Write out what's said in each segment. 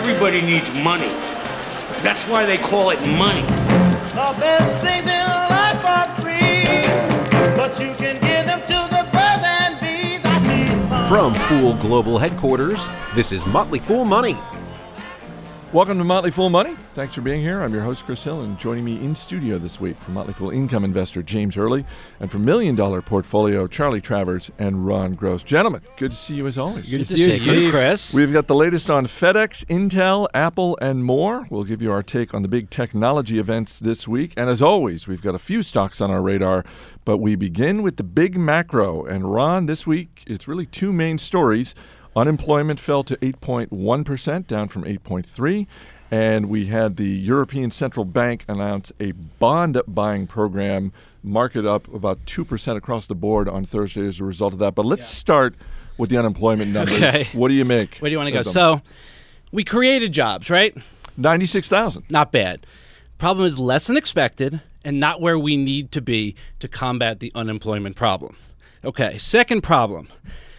Everybody needs money. That's why they call it money. The best things in life are free, but you can give them to the birds and bees. I need money. From Fool Global Headquarters, this is Motley Fool Money. Welcome to Motley Fool Money. Thanks for being here. I'm your host, Chris Hill, and joining me in studio this week from Motley Fool income investor James Early and from $1 Million Portfolio Charlie Travers and Ron Gross. Gentlemen, good to see you as always. Good to see you, Chris. We've got the latest on FedEx, Intel, Apple, and more. We'll give you our take on the big technology events this week. And as always, we've got a few stocks on our radar, but we begin with the big macro. And Ron, this week, it's really two main stories. Unemployment fell to 8.1%, down from 8.3%. And we had the European Central Bank announce a bond buying program, market up about 2% across the board on Thursday as a result of that. But let's start with the unemployment numbers. Okay. What do you make? Where do you want to go? So we created jobs, right? 96,000. Not bad. Problem is less than expected and not where we need to be to combat the unemployment problem. Okay, second problem.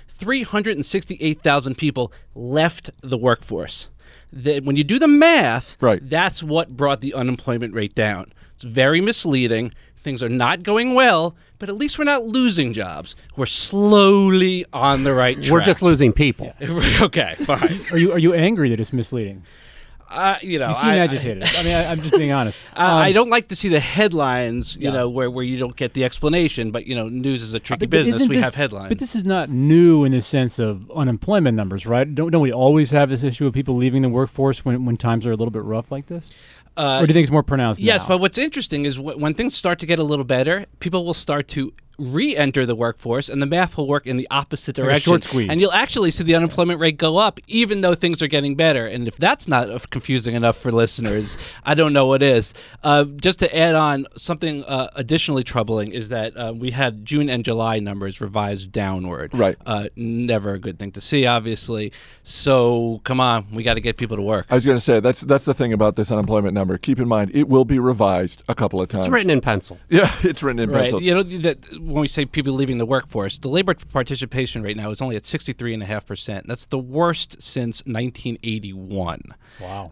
368,000 people left the workforce. When you do the math, right, that's what brought the unemployment rate down. It's very misleading. Things are not going well, but at least we're not losing jobs. We're slowly on the right track. We're just losing people. Yeah. Okay, fine. Are you angry that it's misleading? You seem agitated. I'm just being honest. I don't like to see the headlines, where you don't get the explanation. But news is a tricky business. We have headlines. But this is not new in the sense of unemployment numbers, right? Don't we always have this issue of people leaving the workforce when times are a little bit rough like this? Or do you think it's more pronounced Yes, now? but what's interesting is when things start to get a little better, people will start to re-enter the workforce, and the math will work in the opposite direction. Like a short squeeze. And you'll actually see the unemployment rate go up, even though things are getting better. And if that's not confusing enough for listeners, I don't know what is. Just to add on, something additionally troubling is that we had June and July numbers revised downward. Right. Never a good thing to see, obviously. So, come on, we got to get people to work. I was going to say, that's the thing about this unemployment number. Keep in mind, it will be revised a couple of times. It's written in pencil. Yeah, it's written in pencil. When we say people leaving the workforce, the labor participation rate now is only at 63.5%. That's the worst since 1981. Wow.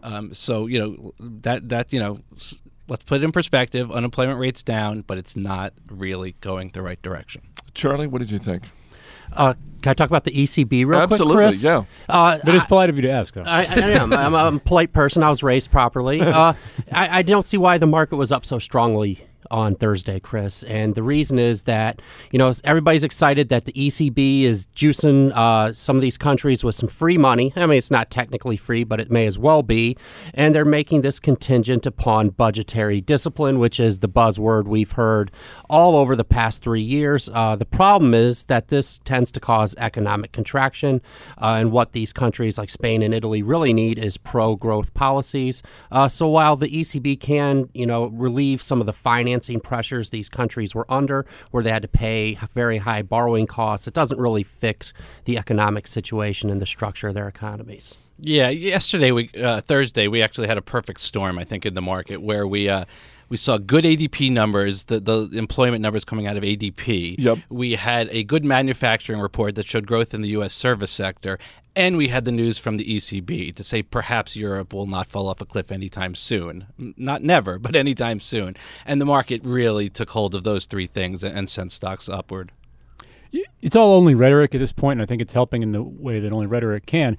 Let's put it in perspective. Unemployment rate's down, but it's not really going the right direction. Charlie, what did you think? Can I talk about the ECB real quick, Absolutely, Chris? yeah. But it's polite of you to ask, though. I am. I'm a polite person. I was raised properly. I don't see why the market was up so strongly on Thursday, Chris. And the reason is that, everybody's excited that the ECB is juicing some of these countries with some free money. I mean, it's not technically free, but it may as well be. And they're making this contingent upon budgetary discipline, which is the buzzword we've heard all over the past 3 years. The problem is that this tends to cause economic contraction. And what these countries like Spain and Italy really need is pro-growth policies. So while the ECB can, relieve some of the financing pressures these countries were under, where they had to pay very high borrowing costs, it doesn't really fix the economic situation and the structure of their economies. Yeah, Thursday, we actually had a perfect storm, I think, in the market where we saw good ADP numbers, the employment numbers coming out of ADP. Yep. We had a good manufacturing report that showed growth in the U.S. service sector. And we had the news from the ECB to say perhaps Europe will not fall off a cliff anytime soon. Not never, but anytime soon. And the market really took hold of those three things and sent stocks upward. It's all only rhetoric at this point, and I think it's helping in the way that only rhetoric can.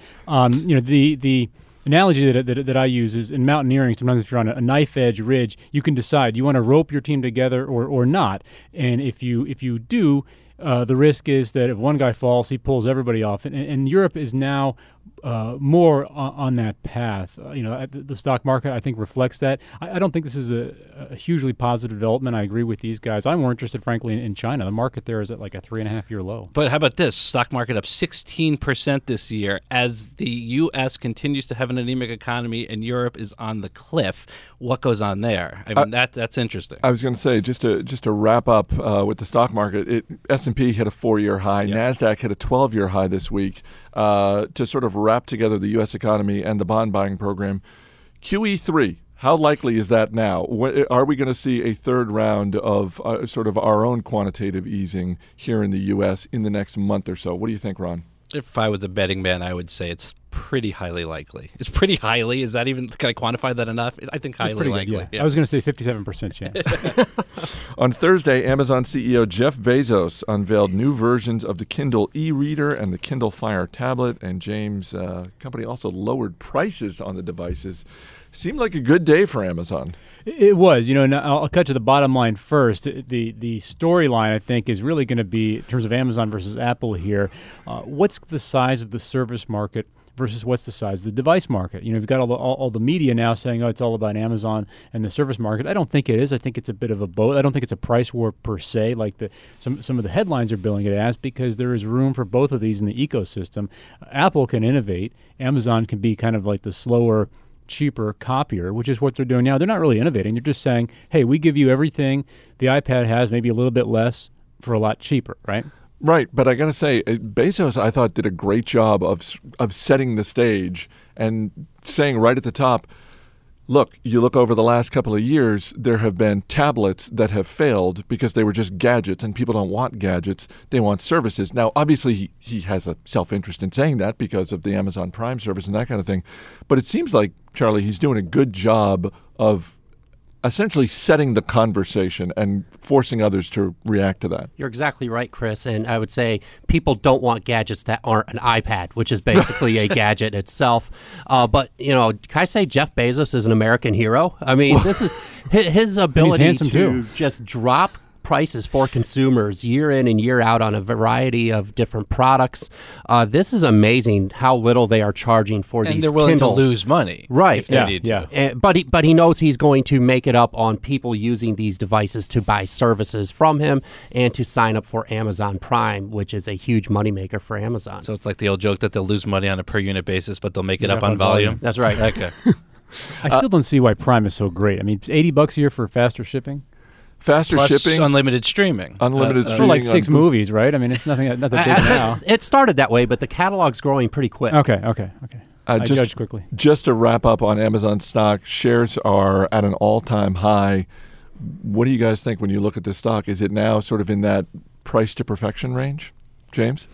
The analogy that I use is in mountaineering, sometimes if you're on a knife edge ridge, you can decide you want to rope your team together or not. And if you do, the risk is that if one guy falls, he pulls everybody off. And Europe is now more on that path. The stock market, I think, reflects that. I don't think this is a hugely positive development. I agree with these guys. I'm more interested, frankly, in China. The market there is at like a 3.5-year low. But how about this? Stock market up 16% this year as the U.S. continues to have an anemic economy and Europe is on the cliff. What goes on there? I mean, that's interesting. I was going to say, just to wrap up with the stock market, S&P hit a 4-year high. Yep. NASDAQ hit a 12-year high this week. To sort of wrap together the U.S. economy and the bond buying program. QE3, how likely is that now? Are we going to see a third round of sort of our own quantitative easing here in the U.S. in the next month or so? What do you think, Ron? If I was a betting man, I would say it's pretty highly likely. It's pretty highly. Is that even, can I quantify that enough? I think That's highly pretty likely. good, yeah. I was going to say 57% chance. On Thursday, Amazon CEO Jeff Bezos unveiled new versions of the Kindle e-reader and the Kindle Fire tablet, and James' company also lowered prices on the devices. Seemed like a good day for Amazon. It was, and I'll cut to the bottom line first. The storyline, I think, is really going to be, in terms of Amazon versus Apple here, what's the size of the service market versus what's the size of the device market? You've got all the media now saying, it's all about Amazon and the service market. I don't think it is. I think it's a bit of a both. I don't think it's a price war per se, like some of the headlines are billing it as, because there is room for both of these in the ecosystem. Apple can innovate. Amazon can be kind of like the slower, cheaper copier, which is what they're doing now. They're not really innovating. They're just saying, hey, we give you everything the iPad has, maybe a little bit less for a lot cheaper, right? Right, but I got to say, Bezos, I thought, did a great job of setting the stage and saying right at the top, look, you look over the last couple of years, there have been tablets that have failed because they were just gadgets, and people don't want gadgets. They want services. Now, obviously, he has a self-interest in saying that because of the Amazon Prime service and that kind of thing. But it seems like, Charlie, he's doing a good job of essentially setting the conversation and forcing others to react to that. You're exactly right, Chris. And I would say people don't want gadgets that aren't an iPad, which is basically a gadget itself. But, can I say Jeff Bezos is an American hero? I mean, this is his ability to just drop prices for consumers year in and year out on a variety of different products. This is amazing how little they are charging for these. And they're willing Kindle. to lose money, right? If they need to. But he knows he's going to make it up on people using these devices to buy services from him and to sign up for Amazon Prime, which is a huge moneymaker for Amazon. So it's like the old joke that they'll lose money on a per unit basis, but they'll make it up on volume. That's right. Okay. I still don't see why Prime is so great. I mean, it's $80 a year for faster shipping. Faster Plus shipping, unlimited streaming. Unlimited streaming for like 6 movies, right? I mean, it's nothing big now. It started that way, but the catalog's growing pretty quick. Okay. I just judge quickly. Just to wrap up on Amazon stock, shares are at an all-time high. What do you guys think when you look at this stock? Is it now sort of in that price to perfection range, James?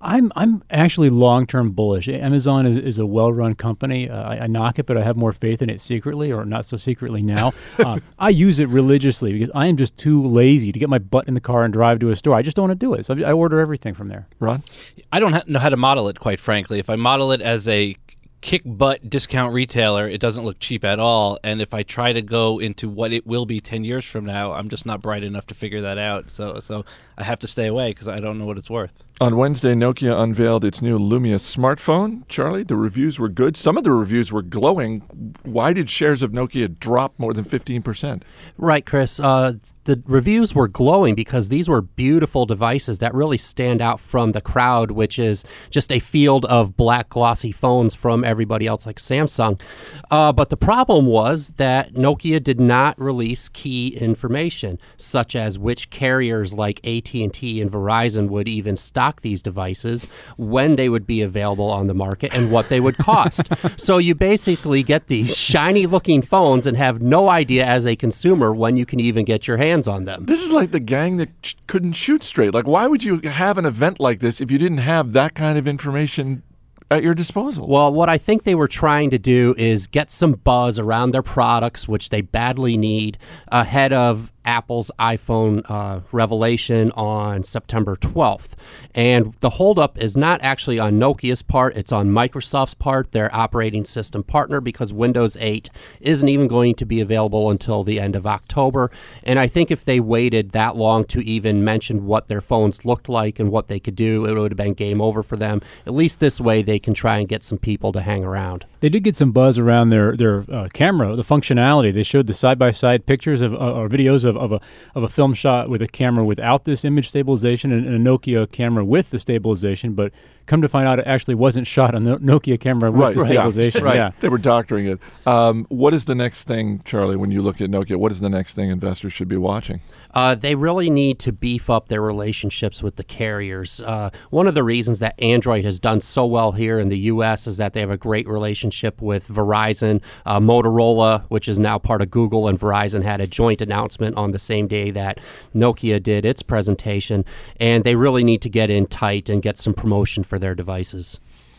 I'm actually long-term bullish. Amazon is a well-run company. I knock it, but I have more faith in it secretly, or not so secretly now. I use it religiously because I am just too lazy to get my butt in the car and drive to a store. I just don't want to do it. So I order everything from there. Ron? I don't know how to model it, quite frankly. If I model it as a kick-butt discount retailer, it doesn't look cheap at all. And if I try to go into what it will be 10 years from now, I'm just not bright enough to figure that out. So I have to stay away because I don't know what it's worth. On Wednesday, Nokia unveiled its new Lumia smartphone. Charlie, the reviews were good. Some of the reviews were glowing. Why did shares of Nokia drop more than 15%? Right, Chris. The reviews were glowing because these were beautiful devices that really stand out from the crowd, which is just a field of black glossy phones from everybody else like Samsung. But the problem was that Nokia did not release key information, such as which carriers like AT&T and Verizon would even stock these devices, when they would be available on the market, and what they would cost. So you basically get these shiny-looking phones and have no idea as a consumer when you can even get your hands on them. This is like the gang that couldn't shoot straight. Like, why would you have an event like this if you didn't have that kind of information at your disposal? Well, what I think they were trying to do is get some buzz around their products, which they badly need, ahead of Apple's iPhone revelation on September 12th. And the holdup is not actually on Nokia's part, it's on Microsoft's part, their operating system partner, because Windows 8 isn't even going to be available until the end of October. And I think if they waited that long to even mention what their phones looked like and what they could do, it would have been game over for them. At least this way they can try and get some people to hang around. They did get some buzz around their camera, the functionality. They showed the side-by-side pictures or videos of a film shot with a camera without this image stabilization and a Nokia camera with the stabilization, but come to find out it actually wasn't shot on the Nokia camera with the stabilization. Right. Yeah. They were doctoring it. What is the next thing, Charlie, when you look at Nokia? What is the next thing investors should be watching? They really need to beef up their relationships with the carriers. One of the reasons that Android has done so well here in the U.S. is that they have a great relationship with Verizon. Motorola, which is now part of Google, and Verizon had a joint announcement on the same day that Nokia did its presentation, and they really need to get in tight and get some promotion for their devices.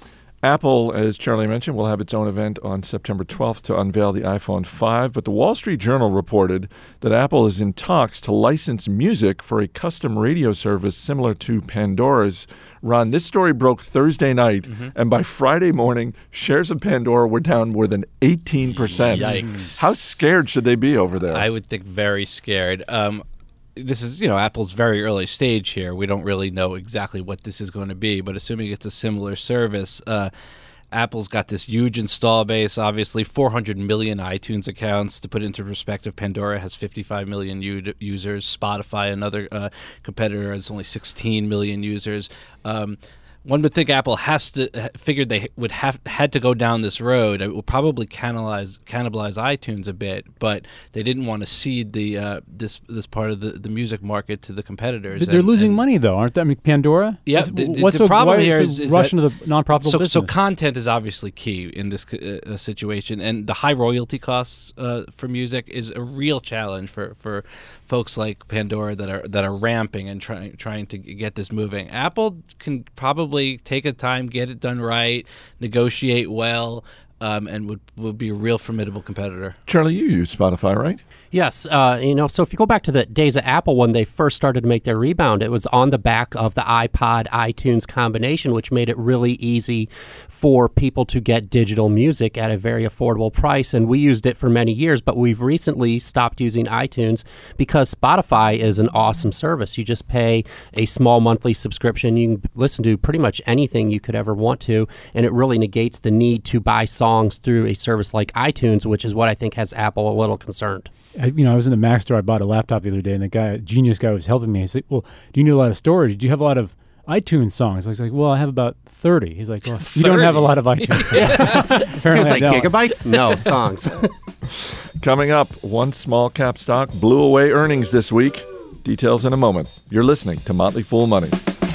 Apple, as Charlie mentioned, will have its own event on September 12th to unveil the iPhone 5, but the Wall Street Journal reported that Apple is in talks to license music for a custom radio service similar to Pandora's. Ron, this story broke Thursday night, and by Friday morning, shares of Pandora were down more than 18%. Yikes. How scared should they be over there? I would think very scared. This is, Apple's very early stage here. We don't really know exactly what this is going to be, but assuming it's a similar service, Apple's got this huge install base, obviously 400 million iTunes accounts. To put it into perspective, Pandora has 55 million users. Spotify, another competitor, has only 16 million users. One would think Apple figured they would had to go down this road. It will probably cannibalize iTunes a bit, but they didn't want to cede the this part of the music market to the competitors. They're losing money though, aren't they? I mean, Pandora. Yeah. What's the problem here is is rushing that, to the non-profitable business. So content is obviously key in this situation, and the high royalty costs for music is a real challenge for folks like Pandora that are ramping and trying to get this moving. Apple can probably take a time, get it done right, negotiate well, and would be a real formidable competitor. Charlie, you use Spotify, right? Yes, so if you go back to the days of Apple when they first started to make their rebound, it was on the back of the iPod iTunes combination, which made it really easy for people to get digital music at a very affordable price. And we used it for many years, but we've recently stopped using iTunes because Spotify is an awesome service. You just pay a small monthly subscription. You can listen to pretty much anything you could ever want to, and it really negates the need to buy songs through a service like iTunes, which is what I think has Apple a little concerned. I was in the Mac store. I bought a laptop the other day, and the genius guy was helping me. He said, "Well, do you need a lot of storage? Do you have a lot of iTunes songs?" I was like, "Well, I have about 30." He's like, "Well, you don't have a lot of iTunes." Apparently, It's like I don't. gigabytes? No, songs. Coming up, one small cap stock blew away earnings this week. Details in a moment. You're listening to Motley Fool Money.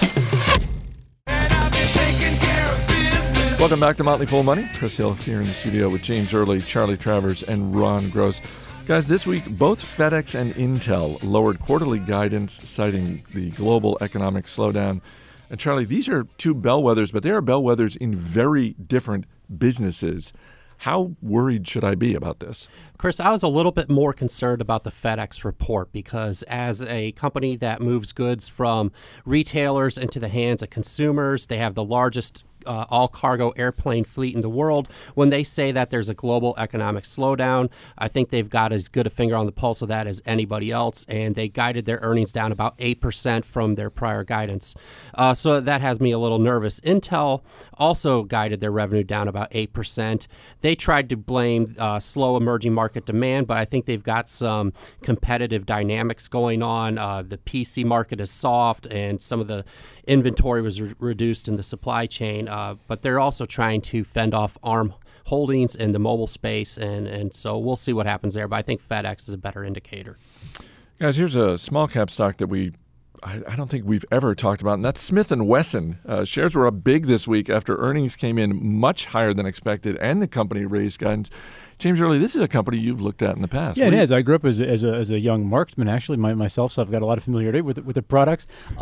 Welcome back to Motley Fool Money. Chris Hill here in the studio with James Early, Charlie Travers, and Ron Gross. Guys, this week, both FedEx and Intel lowered quarterly guidance, citing the global economic slowdown. And Charlie, these are two bellwethers, but they are bellwethers in very different businesses. How worried should I be about this? Chris, I was a little bit more concerned about the FedEx report because as a company that moves goods from retailers into the hands of consumers, they have the largest all-cargo airplane fleet in the world. When they say that there's a global economic slowdown, I think they've got as good a finger on the pulse of that as anybody else, and they guided their earnings down about 8% from their prior guidance. So that has me a little nervous. Intel also guided their revenue down about 8%. They tried to blame slow emerging market demand, but I think they've got some competitive dynamics going on. The PC market is soft, and some of the inventory was reduced in the supply chain, but they're also trying to fend off ARM Holdings in the mobile space, and so we'll see what happens there, but I think FedEx is a better indicator. Guys, here's a small cap stock that I don't think we've ever talked about, and that's Smith & Wesson. Shares were up big this week after earnings came in much higher than expected, and the company raised guidance. James Early, this is a company you've looked at in the past. Yeah, it is. I grew up as a young marksman, actually, myself, so I've got a lot of familiarity with the products.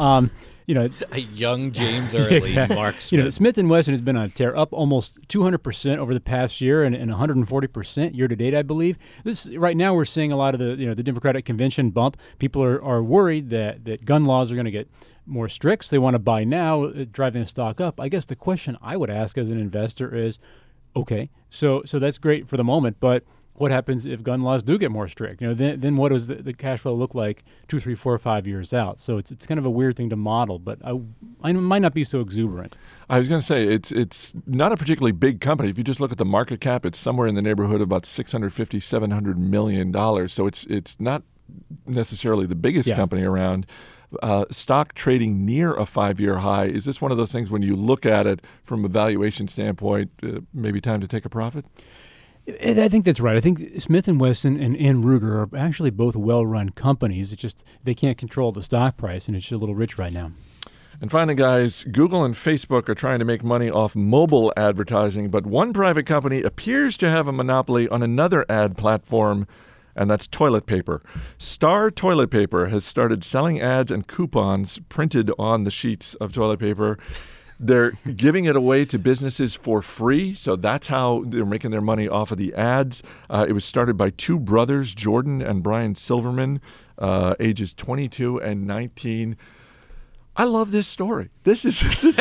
A young James Early exactly. marksman. Smith & Wesson has been on a tear, up almost 200% over the past year and 140% year to date, I believe. Right now we're seeing a lot of the Democratic convention bump. People are worried that gun laws are going to get more strict. So they want to buy now, driving the stock up. I guess the question I would ask as an investor is, okay, so that's great for the moment, but what happens if gun laws do get more strict? Then what does the cash flow look like 2, 3, 4, 5 years out? So it's kind of a weird thing to model, but I might not be so exuberant. I was going to say, it's not a particularly big company. If you just look at the market cap, it's somewhere in the neighborhood of about $650, $700 million. So it's not necessarily the biggest company around. Stock trading near a 5-year high. Is this one of those things when you look at it from a valuation standpoint, maybe time to take a profit? I think that's right. I think Smith & Wesson and Ruger are actually both well-run companies. It's just they can't control the stock price, and it's just a little rich right now. And finally, guys, Google and Facebook are trying to make money off mobile advertising, but one private company appears to have a monopoly on another ad platform, and that's toilet paper. Star Toilet Paper has started selling ads and coupons printed on the sheets of toilet paper. They're giving it away to businesses for free, so that's how they're making their money off of the ads. It was started by two brothers, Jordan and Brian Silverman, ages 22 and 19. I love this story. This is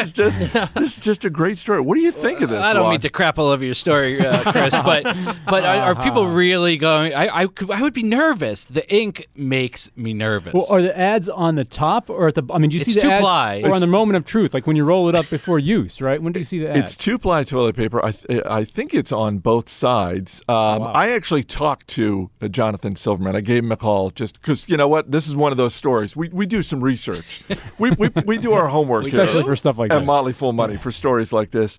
just a great story. What do you think of this? I don't Lon? mean to crap all over your story, Chris, but are people really going? I would be nervous. The ink makes me nervous. Well, are the ads on the top or at the? I mean, do you It's see the ads two-ply. or on the moment of truth, like when you roll it up before use, right? When do you see the ads? It's two-ply toilet paper. I think it's on both sides. Wow. I actually talked to Jonathan Silverman. I gave him a call just because, you know what? This is one of those stories. We do some research. We do our homework here. Especially for stuff like at this. Motley Fool Money for stories like this.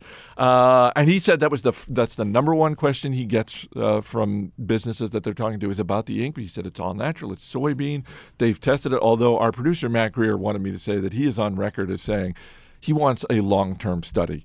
And he said that's the number one question he gets from businesses that they're talking to is about the ink. But he said it's all natural. It's soybean. They've tested it, although our producer, Matt Greer, wanted me to say that he is on record as saying he wants a long-term study.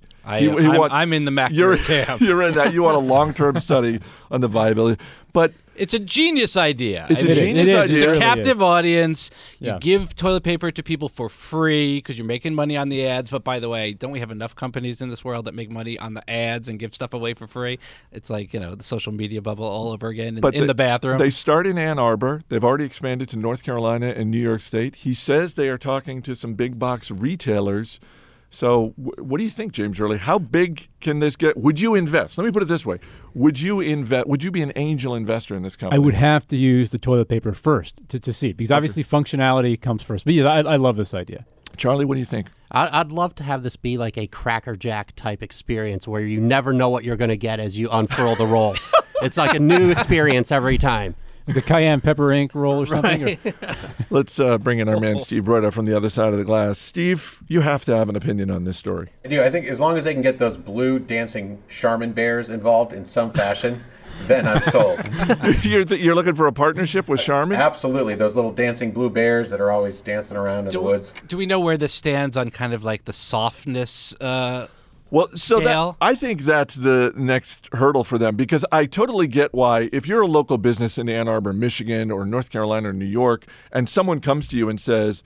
I'm in the McNamara camp. You're in that. You want a long-term study on the viability. But It's a genius idea. It's a I mean, genius it is. idea. It's It a really captive is. audience. You Yeah. give toilet paper to people for free because you're making money on the ads. But by the way, don't we have enough companies in this world that make money on the ads and give stuff away for free? It's like, the social media bubble all over again in the bathroom. They start in Ann Arbor. They've already expanded to North Carolina and New York State. He says they are talking to some big box retailers. So what do you think, James Early? How big can this get? Would you invest? Let me put it this way. Would you invest? Would you be an angel investor in this company? I would have to use the toilet paper first to see, because obviously functionality comes first. But yeah, I love this idea. Charlie, what do you think? I'd love to have this be like a Cracker Jack type experience where you never know what you're going to get as you unfurl the roll. It's like a new experience every time. Like the cayenne pepper ink roll or something. Right. Let's bring in our man Steve Broida from the other side of the glass. Steve, you have to have an opinion on this story. I do. I think as long as they can get those blue dancing Charmin bears involved in some fashion, then I'm sold. You're looking for a partnership with Charmin? Absolutely. Those little dancing blue bears that are always dancing around in the woods. Do we know where this stands on kind of like the softness? Well, so scale? I think that's the next hurdle for them, because I totally get why if you're a local business in Ann Arbor, Michigan, or North Carolina or New York, and someone comes to you and says,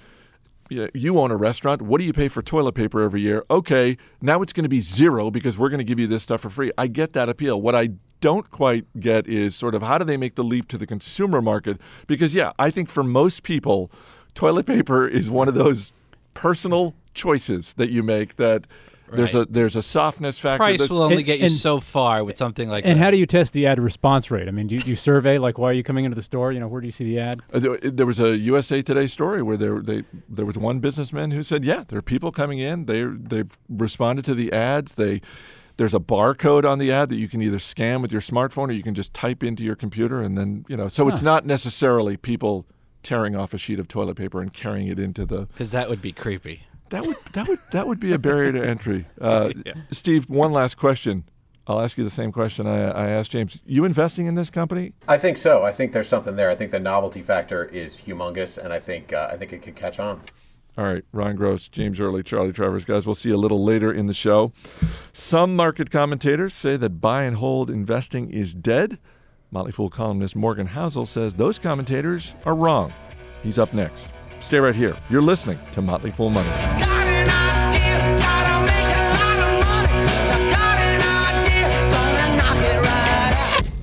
you own a restaurant, what do you pay for toilet paper every year? Okay, now it's going to be zero because we're going to give you this stuff for free. I get that appeal. What I don't quite get is sort of how do they make the leap to the consumer market? Because, I think for most people, toilet paper is one of those personal choices that you make that there's a softness factor. Price will only get you and- so far with something like And that. how do you test the ad response rate? I mean, do you survey, like, why are you coming into the store? Where do you see the ad? There was a USA Today story where there was one businessman who said, there are people coming in. They've responded to the ads. There's a barcode on the ad that you can either scan with your smartphone or you can just type into your computer, and then so it's not necessarily people tearing off a sheet of toilet paper and carrying it into the. Because that would be creepy. That would be a barrier to entry. Steve, one last question. I'll ask you the same question I asked James. You investing in this company? I think so. I think there's something there. I think the novelty factor is humongous, and I think it could catch on. All right, Ron Gross, James Early, Charlie Travers. Guys, we'll see you a little later in the show. Some market commentators say that buy and hold investing is dead. Motley Fool columnist Morgan Housel says those commentators are wrong. He's up next. Stay right here. You're listening to Motley Fool Money. Got an idea, gotta make a lot of money. Got an idea, gonna knock it right out.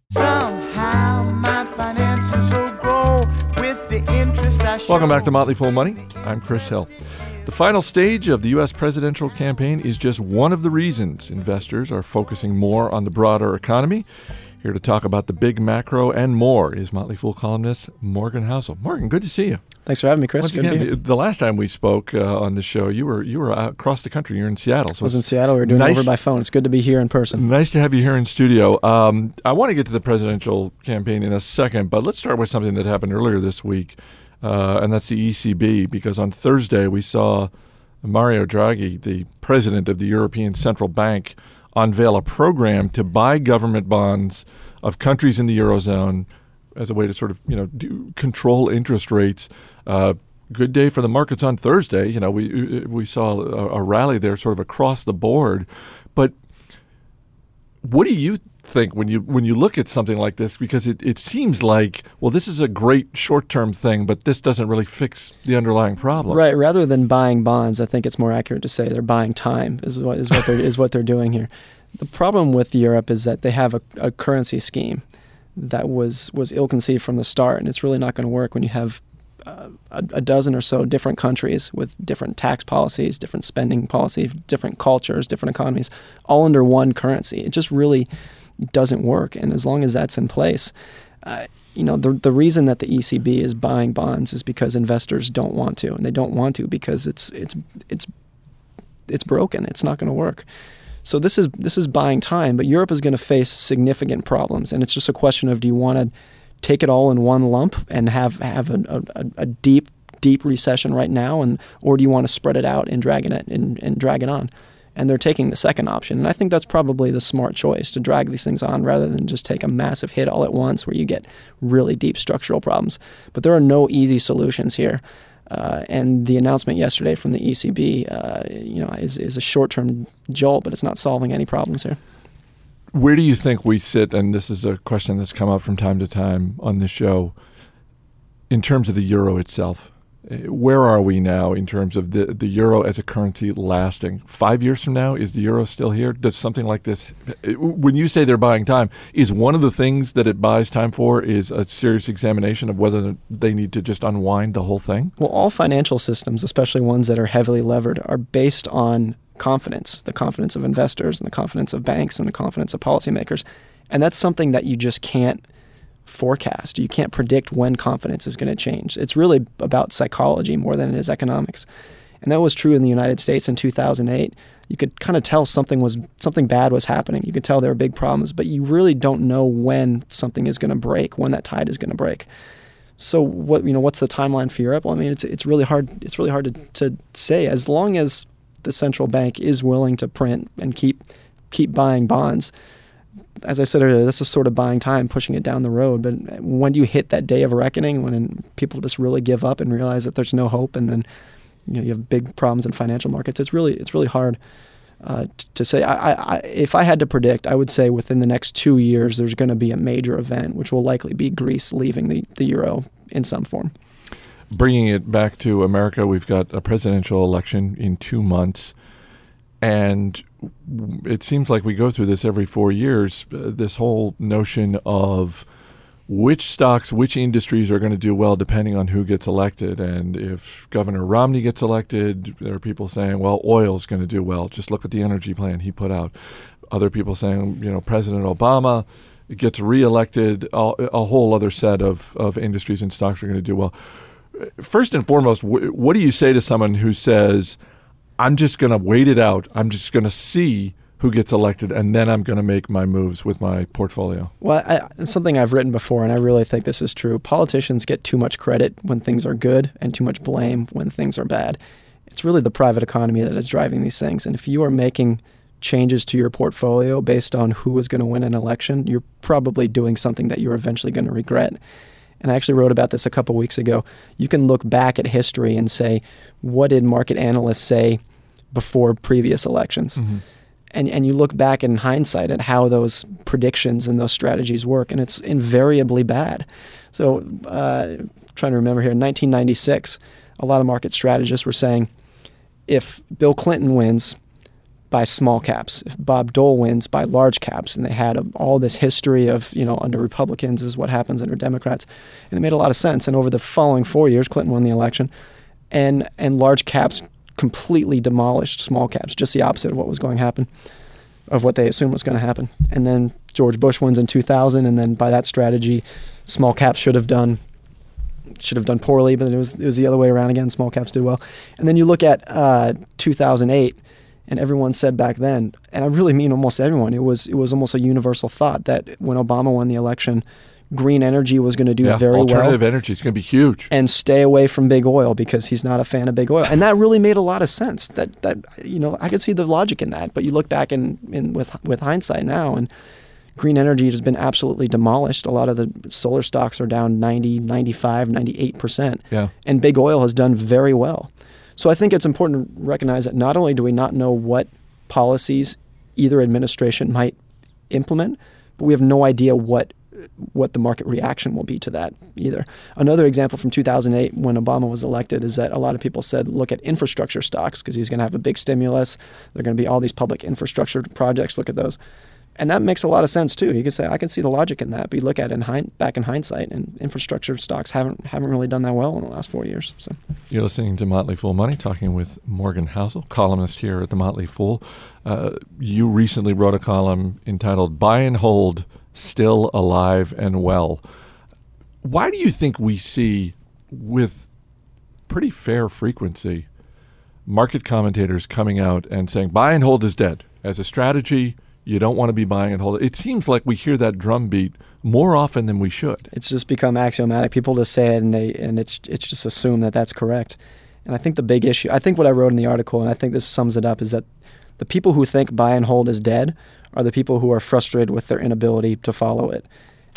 Somehow my finances will grow with the interest I show. Welcome back to Motley Fool Money. I'm Chris Hill. The final stage of the U.S. presidential campaign is just one of the reasons investors are focusing more on the broader economy. Here to talk about the big macro and more is Motley Fool columnist Morgan Housel. Morgan, good to see you. Thanks for having me, Chris. Once Good to be again, here. the last time we spoke on the show, you were out across the country. You're in Seattle. So I was in it's Seattle. We were doing it nice- over by phone. It's good to be here in person. Nice to have you here in studio. I want to get to the presidential campaign in a second, but let's start with something that happened earlier this week, and that's the ECB, because on Thursday we saw Mario Draghi, the president of the European Central Bank, unveil a program to buy government bonds of countries in the Eurozone as a way to sort of, control interest rates. Good day for the markets on Thursday. We saw a rally there sort of across the board. But what do you think when you look at something like this? Because it seems like, well, this is a great short-term thing, but this doesn't really fix the underlying problem. Right. Rather than buying bonds, I think it's more accurate to say they're buying time is what they're doing here. The problem with Europe is that they have a currency scheme that was ill-conceived from the start, and it's really not going to work when you have a dozen or so different countries with different tax policies, different spending policies, different cultures, different economies, all under one currency. It just really doesn't work. And as long as that's in place, the reason that the ECB is buying bonds is because investors don't want to, and they don't want to because it's broken. It's not going to work. So this is buying time, but Europe is going to face significant problems, and it's just a question of, do you want to take it all in one lump and have a deep recession right now, or do you want to spread it out and drag it on? And they're taking the second option, and I think that's probably the smart choice, to drag these things on rather than just take a massive hit all at once where you get really deep structural problems. But there are no easy solutions here. And the announcement yesterday from the ECB, is a short-term jolt, but it's not solving any problems here. Where do you think we sit, and this is a question that's come up from time to time on this show, in terms of the euro itself? Where are we now in terms of the euro as a currency lasting? 5 years from now, is the euro still here? Does something like this, when you say they're buying time, is one of the things that it buys time for is a serious examination of whether they need to just unwind the whole thing? Well, all financial systems, especially ones that are heavily levered, are based on confidence, the confidence of investors and the confidence of banks and the confidence of policymakers. And that's something that you just can't forecast. You can't predict when confidence is going to change. It's really about psychology more than it is economics. And that was true in the United States in 2008. You could kind of tell something bad was happening. You could tell there were big problems, but you really don't know when something is going to break, when that tide is going to break. So what's the timeline for Europe? Well, I mean, it's really hard. It's really hard to say. As long as the central bank is willing to print and keep buying bonds, as I said earlier, this is sort of buying time, pushing it down the road. But when do you hit that day of reckoning, when people just really give up and realize that there's no hope, and then you have big problems in financial markets? It's really hard to say. If I had to predict, I would say within the next 2 years there's going to be a major event, which will likely be Greece leaving the euro in some form. Bringing it back to America, we've got a presidential election in 2 months, and it seems like we go through this every 4 years, this whole notion of which stocks, which industries are going to do well depending on who gets elected. And if Governor Romney gets elected, there are people saying, well, oil is going to do well. Just look at the energy plan he put out. Other people saying, President Obama gets reelected, a whole other set of industries and stocks are going to do well. First and foremost, what do you say to someone who says, I'm just going to wait it out, I'm just going to see who gets elected, and then I'm going to make my moves with my portfolio? Well, it's something I've written before, and I really think this is true. Politicians get too much credit when things are good and too much blame when things are bad. It's really the private economy that is driving these things, and if you are making changes to your portfolio based on who is going to win an election, you're probably doing something that you're eventually going to regret. And I actually wrote about this a couple weeks ago. You can look back at history and say, what did market analysts say before previous elections? Mm-hmm. And you look back in hindsight at how those predictions and those strategies work, and it's invariably bad. So trying to remember here, in 1996, a lot of market strategists were saying, if Bill Clinton wins, by small caps, if Bob Dole wins, by large caps. And they had all this history of, under Republicans is what happens under Democrats. And it made a lot of sense. And over the following 4 years, Clinton won the election. And large caps completely demolished small caps, just the opposite of what was going to happen, of what they assumed was going to happen. And then George Bush wins in 2000. And then by that strategy, small caps should have done poorly, but it was the other way around again. Small caps did well. And then you look at 2008, and everyone said back then, and I really mean almost everyone, it was almost a universal thought that when Obama won the election, green energy was going to do very well. Alternative energy, it's going to be huge. And stay away from big oil because he's not a fan of big oil. And that really made a lot of sense. That I could see the logic in that. But you look back with hindsight now, and green energy has been absolutely demolished. A lot of the solar stocks are down 90, 95, 98%. Yeah. And big oil has done very well. So I think it's important to recognize that not only do we not know what policies either administration might implement, but we have no idea what the market reaction will be to that either. Another example from 2008 when Obama was elected is that a lot of people said, look at infrastructure stocks because he's going to have a big stimulus. There are going to be all these public infrastructure projects. Look at those. And that makes a lot of sense too. You can say, I can see the logic in that. But you look at it back in hindsight, and infrastructure stocks haven't really done that well in the last 4 years. So you're listening to Motley Fool Money, talking with Morgan Housel, columnist here at the Motley Fool. You recently wrote a column entitled "Buy and Hold, Still Alive and Well." Why do you think we see, with pretty fair frequency, market commentators coming out and saying buy and hold is dead as a strategy? You don't want to be buying and holding. It seems like we hear that drumbeat more often than we should. It's just become axiomatic. People just say it, and it's just assumed that that's correct. And I think the big issue, I think what I wrote in the article, and I think this sums it up, is that the people who think buy and hold is dead are the people who are frustrated with their inability to follow it.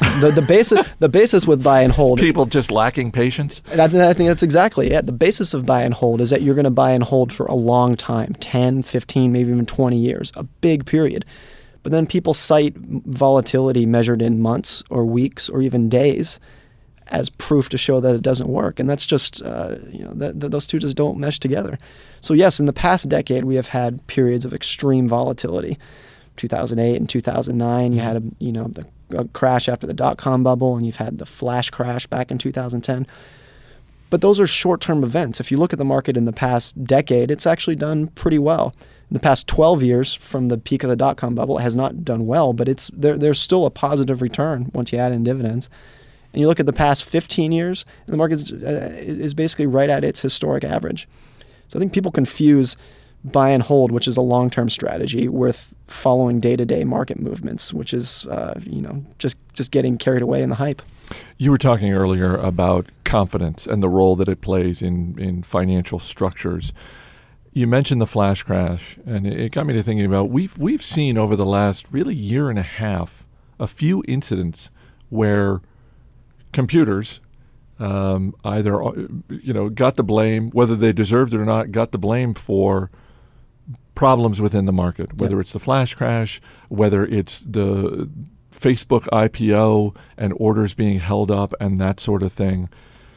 The basis with buy and hold. People just lacking patience? And I think that's exactly it. The basis of buy and hold is that you're going to buy and hold for a long time, 10, 15, maybe even 20 years, a big period. But then people cite volatility measured in months or weeks or even days as proof to show that it doesn't work. And that's just, those two just don't mesh together. So yes, in the past decade, we have had periods of extreme volatility. 2008 and 2009, you had a crash after the dot-com bubble, and you've had the flash crash back in 2010. But those are short-term events. If you look at the market in the past decade, it's actually done pretty well. In the past 12 years from the peak of the dot-com bubble, it has not done well, but there's still a positive return once you add in dividends. And you look at the past 15 years, and the market is basically right at its historic average. So I think people confuse buy and hold, which is a long-term strategy, with following day-to-day market movements, which is just getting carried away in the hype. You were talking earlier about confidence and the role that it plays in financial structures. You mentioned the flash crash, and it got me to thinking about we've seen over the last really year and a half a few incidents where computers either got the blame, whether they deserved it or not, got the blame for problems within the market, whether it's the flash crash, whether it's the Facebook IPO and orders being held up and that sort of thing.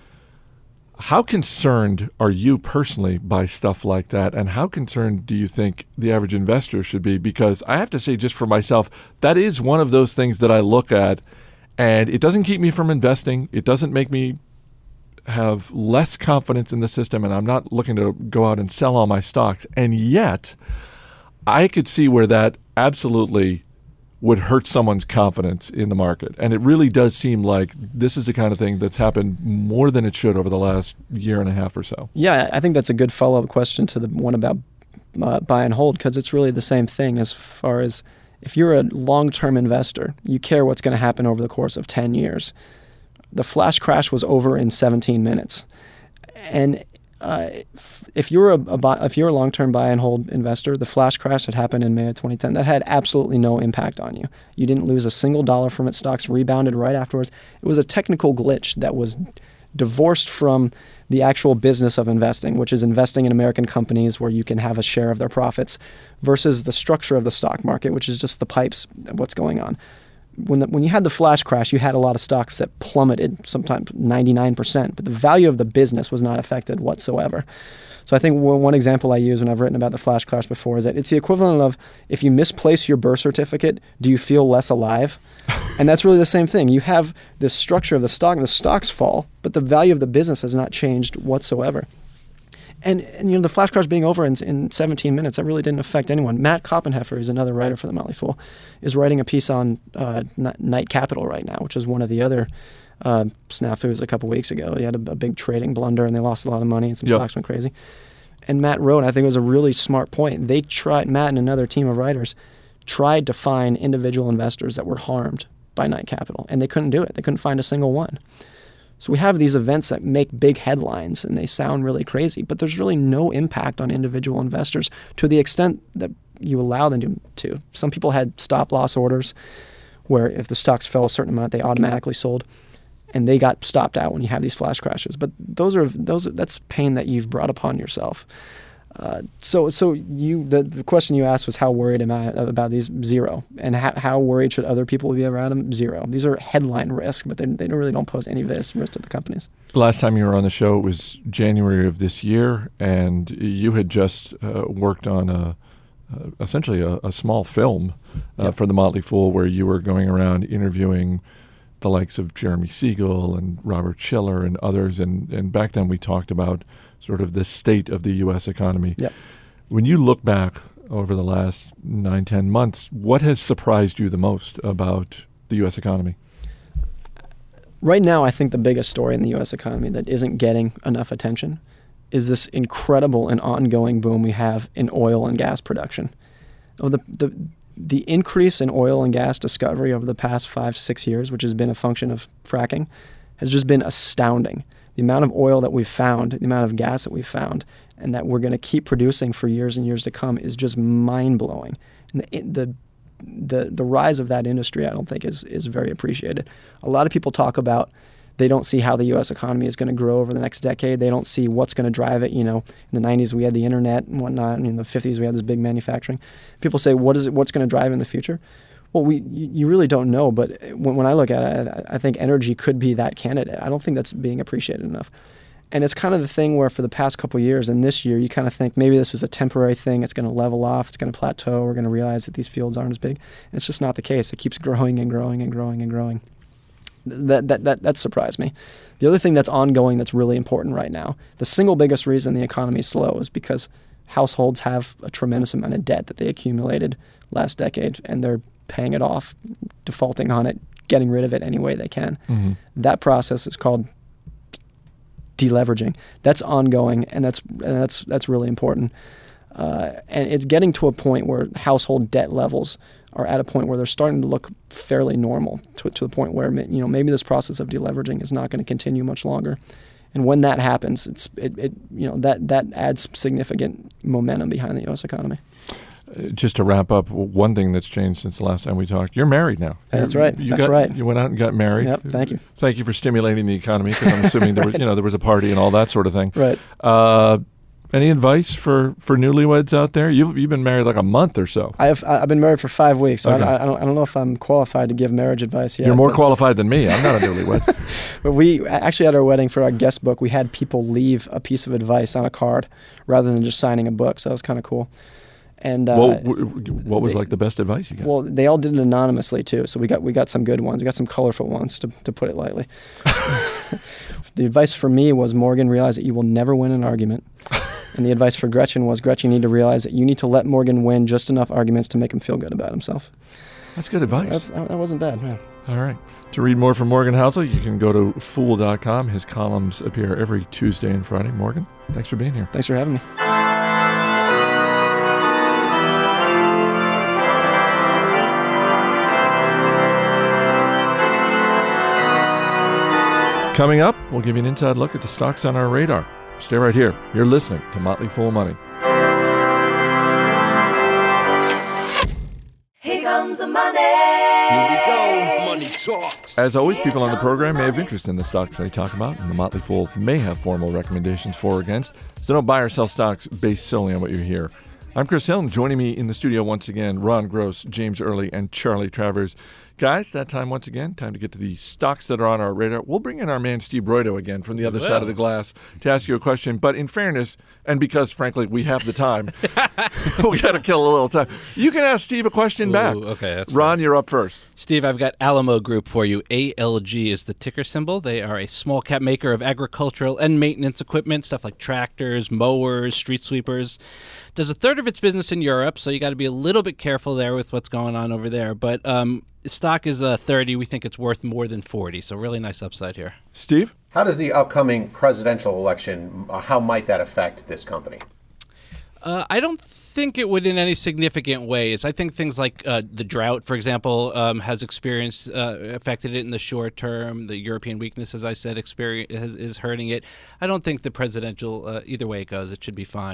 How concerned are you personally by stuff like that, and how concerned do you think the average investor should be? Because I have to say, just for myself, that is one of those things that I look at, and it doesn't keep me from investing. It doesn't make me have less confidence in the system, and I'm not looking to go out and sell all my stocks. And yet, I could see where that absolutely would hurt someone's confidence in the market. And it really does seem like this is the kind of thing that's happened more than it should over the last year and a half or so. Yeah, I think that's a good follow-up question to the one about buy and hold, because it's really the same thing as far as if you're a long-term investor, you care what's going to happen over the course of 10 years. The flash crash was over in 17 minutes. And if you're a long-term buy and hold investor, the flash crash that happened in May of 2010, that had absolutely no impact on you. You didn't lose a single dollar from it. Stocks rebounded right afterwards. It was a technical glitch that was divorced from the actual business of investing, which is investing in American companies where you can have a share of their profits, versus the structure of the stock market, which is just the pipes of what's going on. When you had the flash crash, you had a lot of stocks that plummeted, sometimes 99%, but the value of the business was not affected whatsoever. So I think one example I use when I've written about the flash crash before is that it's the equivalent of if you misplace your birth certificate, do you feel less alive? And that's really the same thing. You have this structure of the stock, and the stocks fall, but the value of the business has not changed whatsoever. And the flash crash being over in 17 minutes, that really didn't affect anyone. Matt Koppenheffer, who's another writer for the Motley Fool, is writing a piece on Knight Capital right now, which was one of the other snafus a couple weeks ago. He had a big trading blunder, and they lost a lot of money, and some stocks went crazy. And Matt wrote, I think it was a really smart point. Matt and another team of writers tried to find individual investors that were harmed by Knight Capital, and they couldn't do it. They couldn't find a single one. So we have these events that make big headlines, and they sound really crazy, but there's really no impact on individual investors to the extent that you allow them to. Some people had stop-loss orders where if the stocks fell a certain amount, they automatically sold, and they got stopped out when you have these flash crashes. But that's pain that you've brought upon yourself. So the question you asked was how worried am I about these? Zero. And how worried should other people be about them? Zero. These are headline risk, but they really don't pose any risk to the companies. The last time you were on the show it was January of this year, and you had just worked on essentially a small film for the Motley Fool, where you were going around interviewing the likes of Jeremy Siegel and Robert Schiller and others, and back then we talked about sort of the state of the U.S. economy. Yep. When you look back over the last 9-10 months, what has surprised you the most about the U.S. economy? Right now, I think the biggest story in the U.S. economy that isn't getting enough attention is this incredible and ongoing boom we have in oil and gas production. The increase in oil and gas discovery over the past 5-6 years, which has been a function of fracking, has just been astounding. The amount of oil that we've found, the amount of gas that we've found, and that we're going to keep producing for years and years to come is just mind-blowing. And the rise of that industry, I don't think, is very appreciated. A lot of people talk about they don't see how the U.S. economy is going to grow over the next decade. They don't see what's going to drive it. You know, in the 90s we had the internet and whatnot, and in the 50s we had this big manufacturing. People say, what's going to drive in the future? Well, you really don't know, but when I look at it, I think energy could be that candidate. I don't think that's being appreciated enough. And it's kind of the thing where for the past couple of years and this year, you kind of think maybe this is a temporary thing. It's going to level off. It's going to plateau. We're going to realize that these fields aren't as big. And it's just not the case. It keeps growing and growing and growing and growing. That surprised me. The other thing that's ongoing that's really important right now, the single biggest reason the economy is slow is because households have a tremendous amount of debt that they accumulated last decade, and they're paying it off, defaulting on it, getting rid of it any way they can. Mm-hmm. That process is called deleveraging. That's ongoing, and that's really important. And it's getting to a point where household debt levels are at a point where they're starting to look fairly normal, to the point where maybe this process of deleveraging is not going to continue much longer. And when that happens, that adds significant momentum behind the U.S. economy. Just to wrap up, one thing that's changed since the last time we talked, you're married now. That's right. That's right. You went out and got married. Yep, thank you. Thank you for stimulating the economy, because I'm assuming there was a party and all that sort of thing. Right. Any advice for newlyweds out there? You've been married like a month or so. I've been married for 5 weeks, so okay. I don't know if I'm qualified to give marriage advice yet. You're more qualified than me. I'm not a newlywed. But we actually at our wedding, for our guest book, we had people leave a piece of advice on a card rather than just signing a book. So that was kind of cool. And what was like the best advice you got? Well, they all did it anonymously too, so we got some good ones. We got some colorful ones, to put it lightly. The advice for me was, Morgan, realize that you will never win an argument. And the advice for Gretchen was, Gretchen, you need to realize that you need to let Morgan win just enough arguments to make him feel good about himself. That's good advice. That wasn't bad, man. All right. To read more from Morgan Housel, you can go to Fool.com. His columns appear every Tuesday and Friday. Morgan, thanks for being here. Thanks for having me. Coming up, we'll give you an inside look at the stocks on our radar. Stay right here. You're listening to Motley Fool Money. Here comes the money. Here we go. Money talks. As always, people on the program may have interest in the stocks they talk about, and the Motley Fool may have formal recommendations for or against, so don't buy or sell stocks based solely on what you hear. I'm Chris Hill, and joining me in the studio once again, Ron Gross, James Early, and Charlie Travers. Guys, that time once again, time to get to the stocks that are on our radar. We'll bring in our man Steve Broido again from the other side of the glass to ask you a question. But in fairness, and because, frankly, we have the time, we got to kill a little time. You can ask Steve a question back. Okay, that's Ron, fine. You're up first. Steve, I've got Alamo Group for you. ALG is the ticker symbol. They are a small cap maker of agricultural and maintenance equipment, stuff like tractors, mowers, street sweepers. Does a third of its business in Europe, so you got to be a little bit careful there with what's going on over there. But stock is 30. We think it's worth more than 40, so really nice upside here. Steve? How does the upcoming presidential election, how might that affect this company? I don't think it would in any significant ways. I think things like the drought, for example, has affected it in the short term. The European weakness, as I said, is hurting it. I don't think the presidential, either way it goes, it should be fine.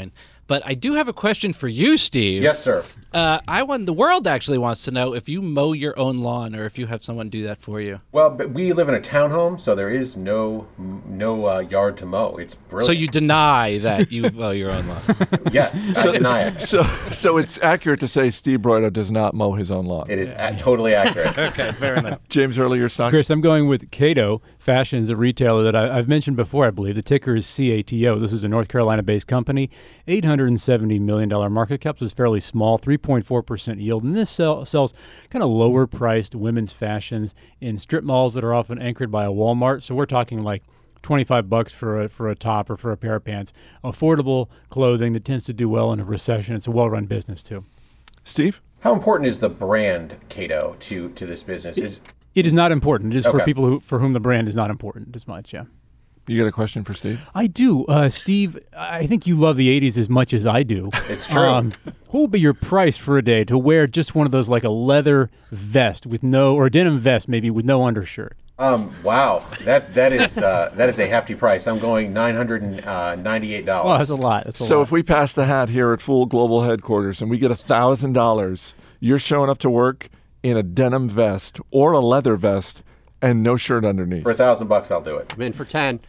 But I do have a question for you, Steve. Yes, sir. The world actually wants to know if you mow your own lawn or if you have someone do that for you. Well, but we live in a townhome, so there is no yard to mow. It's brilliant. So you deny that you mow your own lawn? Yes, I deny it. So it's accurate to say Steve Broido does not mow his own lawn. It is totally accurate. Okay, fair enough. James, earlier stock. Chris, I'm going with Cato Fashions, a retailer that I've mentioned before, I believe. The ticker is CATO. This is a North Carolina-based company. $870 million market cap. So it's fairly small, 3.4% yield. And this sells kind of lower-priced women's fashions in strip malls that are often anchored by a Walmart. So we're talking like $25 for a top or for a pair of pants. Affordable clothing that tends to do well in a recession. It's a well-run business, too. Steve? How important is the brand Cato to this business? It is not important. It is for Okay. people for whom the brand is not important as much, yeah. You got a question for Steve? I do. Steve, I think you love the 80s as much as I do. It's true. What would be your price for a day to wear just one of those, like a leather vest or a denim vest maybe with no undershirt? Wow, that is a hefty price. I'm going $998. Well, that's a lot. That's a So lot. if we pass the hat here at Fool Global Headquarters and we get $1,000, you're showing up to work in a denim vest or a leather vest and no shirt underneath. For $1,000, I'll do it. I'm in for 10.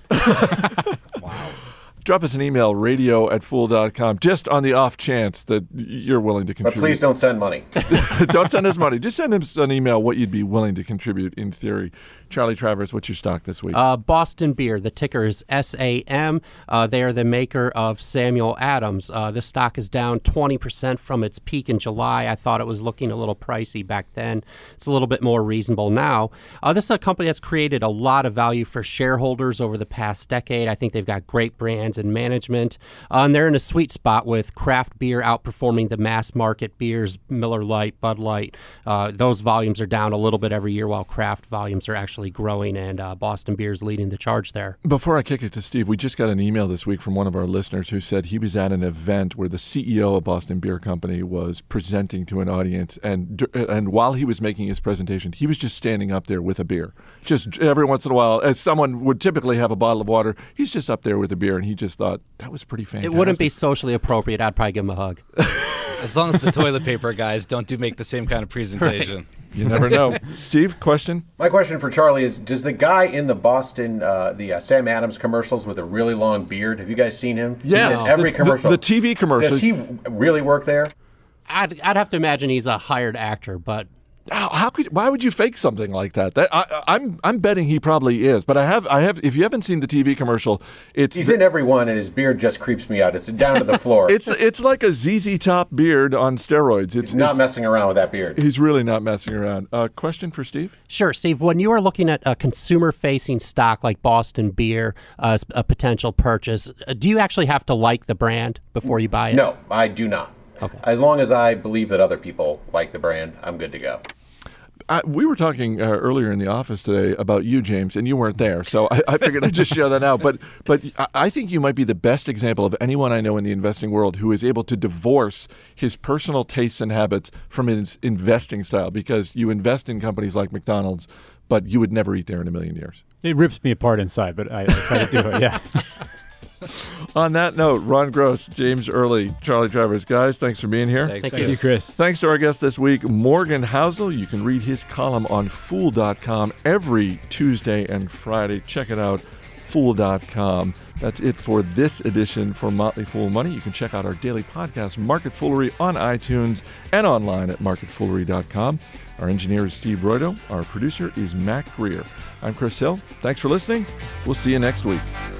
Drop us an email, radio@fool.com, just on the off chance that you're willing to But contribute. please don't send money. Don't send us money. Just send us an email what you'd be willing to contribute in theory. Charlie Travers, what's your stock this week? Boston Beer. The ticker is SAM. They are the maker of Samuel Adams. This stock is down 20% from its peak in July. I thought it was looking a little pricey back then. It's a little bit more reasonable now. This is a company that's created a lot of value for shareholders over the past decade. I think they've got great brands and management. And they're in a sweet spot with craft beer outperforming the mass market beers, Miller Lite, Bud Light. Those volumes are down a little bit every year while craft volumes are actually growing, and Boston Beer is leading the charge there. Before I kick it to Steve, we just got an email this week from one of our listeners who said he was at an event where the CEO of Boston Beer Company was presenting to an audience, and while he was making his presentation, he was just standing up there with a beer. Just every once in a while, as someone would typically have a bottle of water, he's just up there with a beer, and he just thought, that was pretty fantastic. It wouldn't be socially appropriate. I'd probably give him a hug. As long as the toilet paper guys don't make the same kind of presentation. You never know. Steve, question? My question for Charlie is, does the guy in the Boston, Sam Adams commercials with a really long beard, have you guys seen him? Yes. He's in every commercial. The TV commercials. Does he really work there? I'd have to imagine he's a hired actor, but Why would you fake something like that? I'm betting he probably is, but I have. If you haven't seen the TV commercial, he's in every one, and his beard just creeps me out. It's down to the floor. It's like a ZZ Top beard on steroids. He's not messing around with that beard. He's really not messing around. Question for Steve? Sure, Steve. When you are looking at a consumer-facing stock like Boston Beer as a potential purchase, do you actually have to like the brand before you buy it? No, I do not. Okay. As long as I believe that other people like the brand, I'm good to go. We were talking earlier in the office today about you, James, and you weren't there, so I figured I'd just share that out. But I think you might be the best example of anyone I know in the investing world who is able to divorce his personal tastes and habits from his investing style, because you invest in companies like McDonald's, but you would never eat there in a million years. It rips me apart inside, but I try to do it, yeah. On that note, Ron Gross, James Early, Charlie Travers. Guys, thanks for being here. Thanks, Thank you, Chris. Thanks to our guest this week, Morgan Housel. You can read his column on Fool.com every Tuesday and Friday. Check it out, Fool.com. That's it for this edition for Motley Fool Money. You can check out our daily podcast, Market Foolery, on iTunes and online at marketfoolery.com. Our engineer is Steve Broido. Our producer is Matt Greer. I'm Chris Hill. Thanks for listening. We'll see you next week.